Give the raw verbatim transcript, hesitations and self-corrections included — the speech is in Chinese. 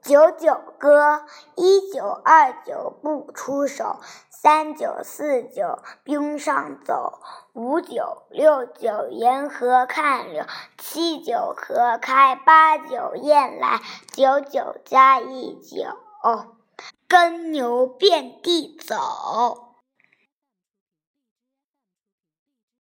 九九歌，一九二九不出手，三九四九冰上走，五九六九沿河看柳，七九河开，八九雁来，九九加一九，耕牛遍地走。